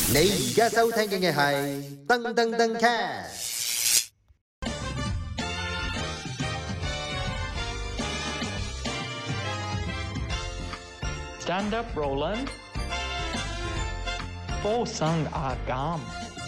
你而家收聽嘅係噔噔噔 cast。 Stand up, Roland。附送阿減。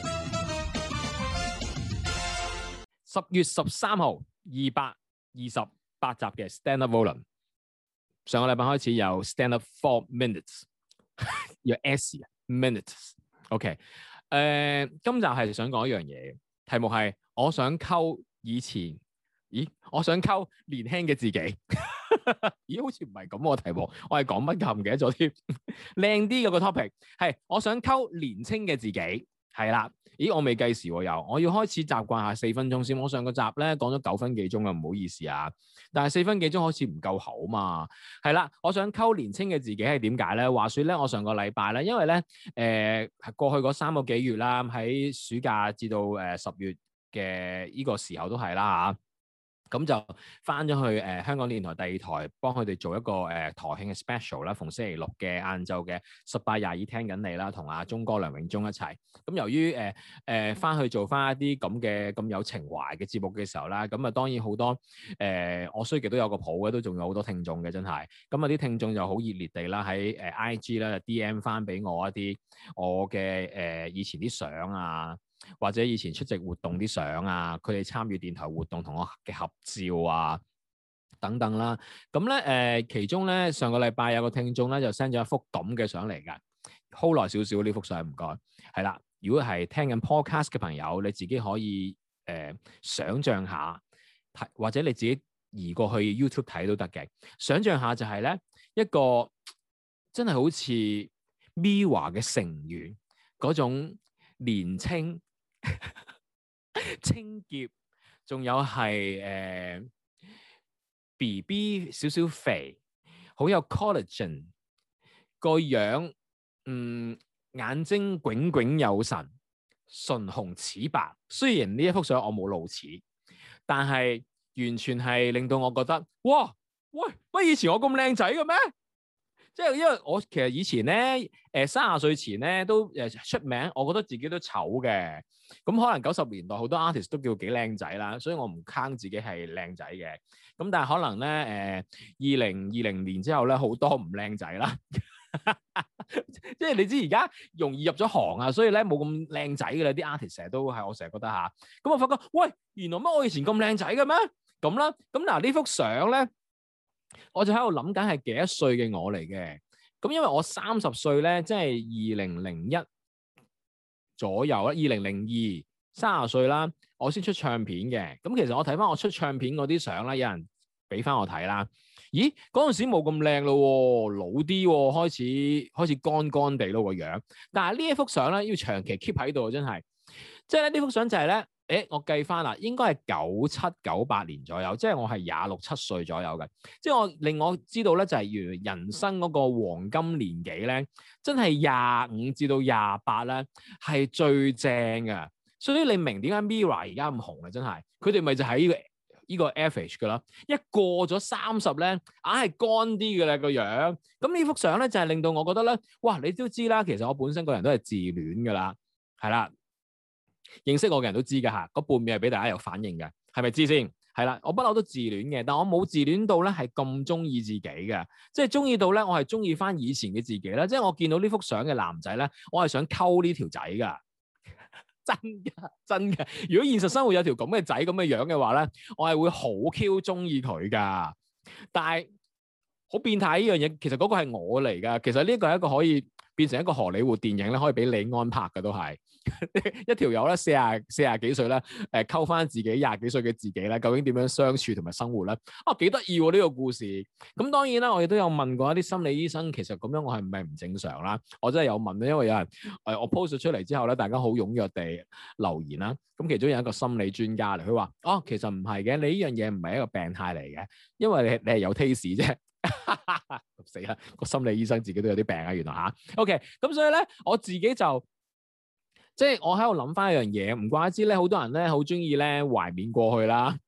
10月13號228集嘅 Stand up Roland。上個禮拜開始有 Stand up 4 minutes， 有 S 啊 minutes。OK， 今集係想講一樣嘢，題目係我想溝以前，我想溝年輕嘅自己。咦，好似唔係咁喎題目，我係講乜㗎唔記得咗添。靚啲嗰個 topic 係我想溝年青嘅自己，係啦。咦，我未計時喎又，我要開始習慣下4分鐘先。我上個集咧講咗9分幾鐘啊，唔好意思啊。但係4分幾鐘好似唔夠口嘛。係啦，我想溝年青嘅自己係點解咧？話說咧，我上個禮拜咧，因為咧過去嗰3個幾月啦，喺暑假至到10月嘅呢個時候都係啦嚇。咁就翻咗去香港電台第2台，幫佢哋做一個台慶嘅 special 啦，逢星期六嘅晏晝嘅18:22聽緊你啦，同阿鐘哥梁永忠一齊。咁由於翻去做翻一啲咁嘅咁有情懷嘅節目嘅時候啦，咁啊當然好多我衰極都有個譜嘅，都仲有好多聽眾嘅真係。咁啊啲聽眾就好熱烈地啦喺IG 啦 DM 翻俾我一啲我嘅以前啲相啊。或者以前出席活動啲相啊，佢哋參與電台活動同我嘅合照啊，等等啦。咁咧其中咧上個禮拜有個聽眾咧就 send 咗一幅咁嘅相嚟㗎 ，hold 耐少少呢幅相唔該。係啦，如果係聽緊 podcast 嘅朋友，你自己可以想像下，或者你自己移過去 YouTube 睇都得嘅。想像下就係咧一個真係好似 MIRROR 嘅成員嗰種年青。清潔，仲有係BB 少少肥，好有 collagen 個樣，眼睛炯炯有神，唇紅齒白。雖然呢一幅相我冇露齒，但係完全係令到我覺得，哇喂，乜以前我咁靚仔嘅咩？即係因為我其實以前咧，30歲前咧都出名，我覺得自己都醜嘅。咁可能90年代好多 artist 都叫幾靚仔啦，所以我唔坑自己係靚仔嘅。咁但係可能咧2020年之後咧，好多唔靚仔啦。即係你知而家容易入咗行啊，所以咧冇咁靚仔嘅啦。啲 artist 成日都係我成日覺得嚇。咁我發覺，喂，原來乜我以前咁靚仔嘅咩？咁啦，咁嗱呢幅相咧。我就喺度諗緊係幾多歲嘅我嚟嘅，咁因為我30歲咧，即係2001左右啦，2002 30歲啦，我先出唱片嘅。咁其實我睇翻我出唱片嗰啲相啦，有人俾翻我睇啦。咦，嗰陣時冇咁靚咯，老啲喎，開始乾乾地咯個樣。但係呢一幅相咧，要長期 keep 喺度，真係，即係咧呢幅相就係咧。我計翻啦，應該係97、98年左右，即係我係26、7歲左右嘅。即係令我知道咧，就係原來人生嗰個黃金年紀咧，真係25至到28咧係最正嘅。所以你明點解 MIRROR 而家咁紅啊？真係，佢哋咪就喺呢個 average 㗎啦。一過咗30咧，硬係乾啲嘅啦個樣。咁呢幅相咧就係令到我覺得咧，哇！你都知啦，其實我本身個人都係自戀㗎啦，係啦。認識我嘅人都知㗎嚇，嗰半面係俾大家有反應嘅，係咪知先？係啦，我不嬲都自戀嘅，但我冇自戀到咧係咁中意自己嘅，即係中意到咧我係中意翻以前嘅自己啦。即係我見到呢幅相嘅男仔咧，我係想溝呢條仔㗎，真嘅。如果現實生活有條咁嘅仔咁嘅樣嘅話咧，我係會好 Q 中意佢㗎。但係好變態呢樣嘢，其實嗰個係我嚟㗎。其實呢個係一個可以變成一個荷里活電影咧，可以俾李安拍嘅都係。一條友咧40幾歲咧，溝翻自己20幾歲嘅自己咧，究竟點樣相處同埋生活咧？幾得意喎呢個故事。咁當然啦，我亦都有問過一啲心理醫生，其實咁樣我係唔係唔正常啦？我真係有問，因為有人我 post 咗出嚟之後咧，大家好踴躍地留言啦。咁其中有一個心理專家嚟，佢話：其實唔係嘅，你呢樣嘢唔係一個病態嚟嘅，因為你係有 taste 啫。死啦！個心理醫生自己都有啲病啊，原來嚇。OK， 咁所以咧，我自己就。即係我喺度諗翻一樣嘢，唔怪之咧，好多人咧好中意咧懷緬過去啦，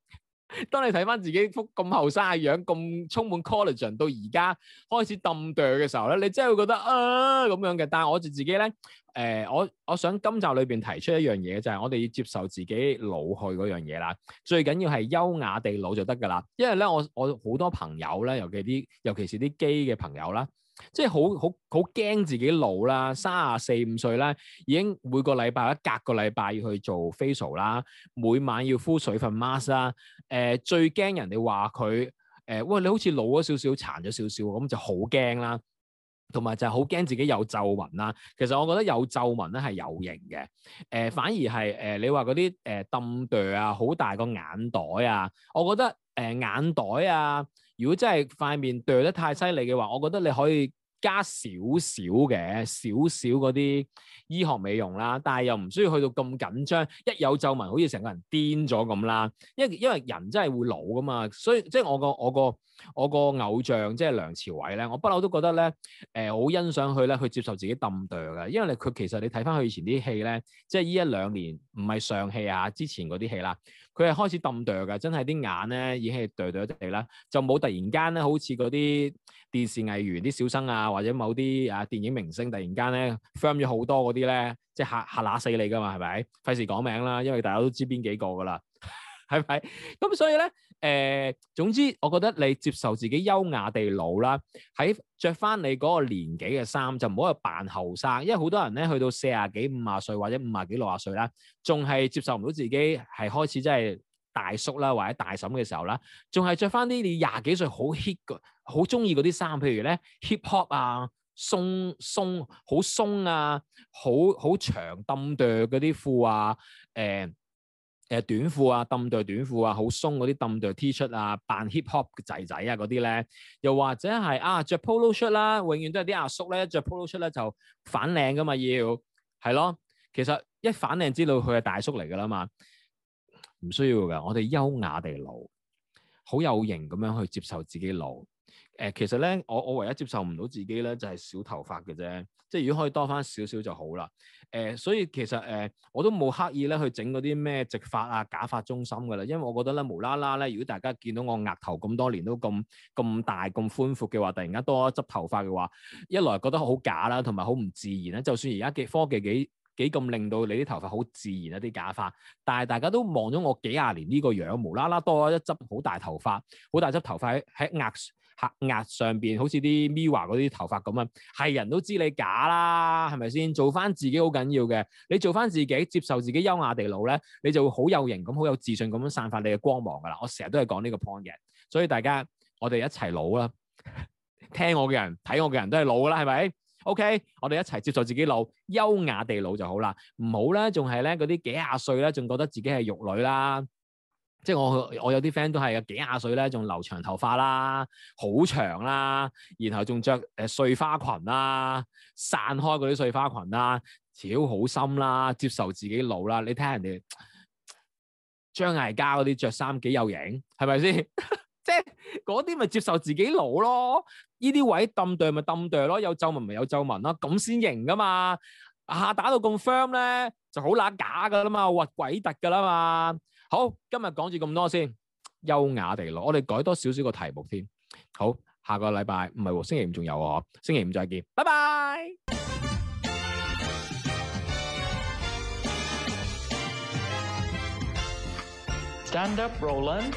當你睇翻自己幅咁後生嘅樣，咁充滿 collagen，到而家開始揼哚嘅時候咧，你真係會覺得咁樣嘅。但係我自己咧，我想今集裏邊提出一樣嘢，就係我哋要接受自己老去嗰樣嘢啦。最緊要係優雅地老就得㗎啦。因為咧，我好多朋友咧，尤其是啲基嘅朋友啦。即係好驚自己老啦，34、5歲啦，已經每個禮拜或者隔個禮拜要去做 facial 啦，每晚要敷水分 mask 啦。最驚人哋話佢喂，你好似老咗少少，殘咗少少，咁就好驚啦。同埋就係好驚自己有皺紋啦。其實我覺得有皺紋咧係有型嘅。反而係你話嗰啲揼哚啊，好大個眼袋啊，我覺得眼袋啊，如果真係塊面哚得太犀利嘅話，我覺得你可以加少少嗰啲醫學美容啦，但係又唔需要去到咁緊張，一有皺紋好似成個人癲咗咁啦。因為人真係會老噶嘛，所以即係我個偶像即係梁朝偉咧，我不嬲都覺得咧，好欣賞佢咧，去接受自己揼哚嘅，因為佢其實你睇翻佢以前啲戲咧，即係呢1-2年唔係上戲啊，之前嗰啲戲啦，佢係開始揼哚嘅，真係啲眼咧已經係哚哚地啦，就冇突然間咧好似嗰啲電視藝員啲小生啊，或者某啲電影明星突然間咧 firm 咗好多嗰啲咧，即係嚇乸死你噶嘛，係咪？費事講名啦，因為大家都知邊幾個噶啦。係咪？咁所以咧，總之我覺得你接受自己優雅地老啦，喺着翻你嗰個年紀嘅衫，就唔好去扮後生，因為好多人咧去到40幾、50歲或者50幾、60歲啦，仲係接受唔到自己係開始真係大叔啦或者大嬸嘅時候啦，仲係着翻啲你20幾歲好 hit 嘅、好中意嗰啲衫，譬如咧 hip hop 啊、好鬆啊、好長揼哚嗰啲褲啊，短褲啊，揼哚短褲啊，好鬆嗰啲揼哚 T 恤啊，扮 hip hop 嘅仔仔啊嗰啲咧，又或者係着 polo shirt 啦，永遠都係啲阿叔咧着 polo shirt 咧就反領噶嘛，係咯，其實一反領知道佢係大叔嚟噶啦嘛，唔需要噶，我哋優雅地老，好有型咁樣去接受自己老。其實咧，我唯一接受唔到自己咧就係少頭髮嘅啫，即係如果可以多翻少少就好啦。所以其實我都冇刻意咧去整嗰啲咩直髮啊、假髮中心噶啦，因為我覺得咧無啦啦咧，如果大家見到我額頭咁多年都咁大咁寬闊嘅話，突然間多一執頭髮嘅話，一來覺得好假啦，同埋好唔自然啦。就算而家嘅科技幾咁令到你啲頭髮好自然一啲假髮，但係大家都望咗我幾廿年呢個樣，無啦啦多一執好大頭髮，好大執頭髮喺額上邊，好似啲 Mirror 嗰啲頭髮咁啊，係人都知你假啦，係咪先？做翻自己好緊要嘅，你做翻自己，接受自己優雅地老咧，你就會好有型咁，好有自信咁樣散發你嘅光芒噶啦。我成日都係講呢個 point 嘅，所以大家我哋一齊老啦，聽我嘅人睇我嘅人都係老噶啦，係咪？OK，我哋一齊接受自己老，優雅地老就好啦，唔好咧，仲係咧嗰啲幾廿歲咧，仲覺得自己係玉女啦。即係我有啲 friend 都係幾廿歲咧，仲留長頭髮啦，好長啦，然後仲着碎花裙啦，散開嗰啲碎花裙啦，超好心啦，接受自己老啦。你睇下人哋張艾嘉嗰啲着衫幾有型，係咪先？即係嗰啲咪接受自己老咯，呢啲位揼哚咪揼哚咯，有皺紋咪有皺紋咯，咁先型噶嘛。打到咁 firm 咧，就好乸假噶啦嘛，核鬼突噶啦嘛。好，今日講住咁多先，優雅地老，我哋改多少少個題目添。好，下個禮拜唔係喎，星期五仲有喎，星期五再見，拜拜。 Stand up, Roland。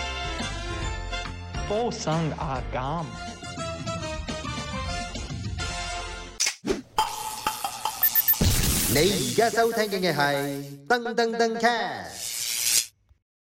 波生阿減。 你而家收聽嘅係噔噔噔 cast。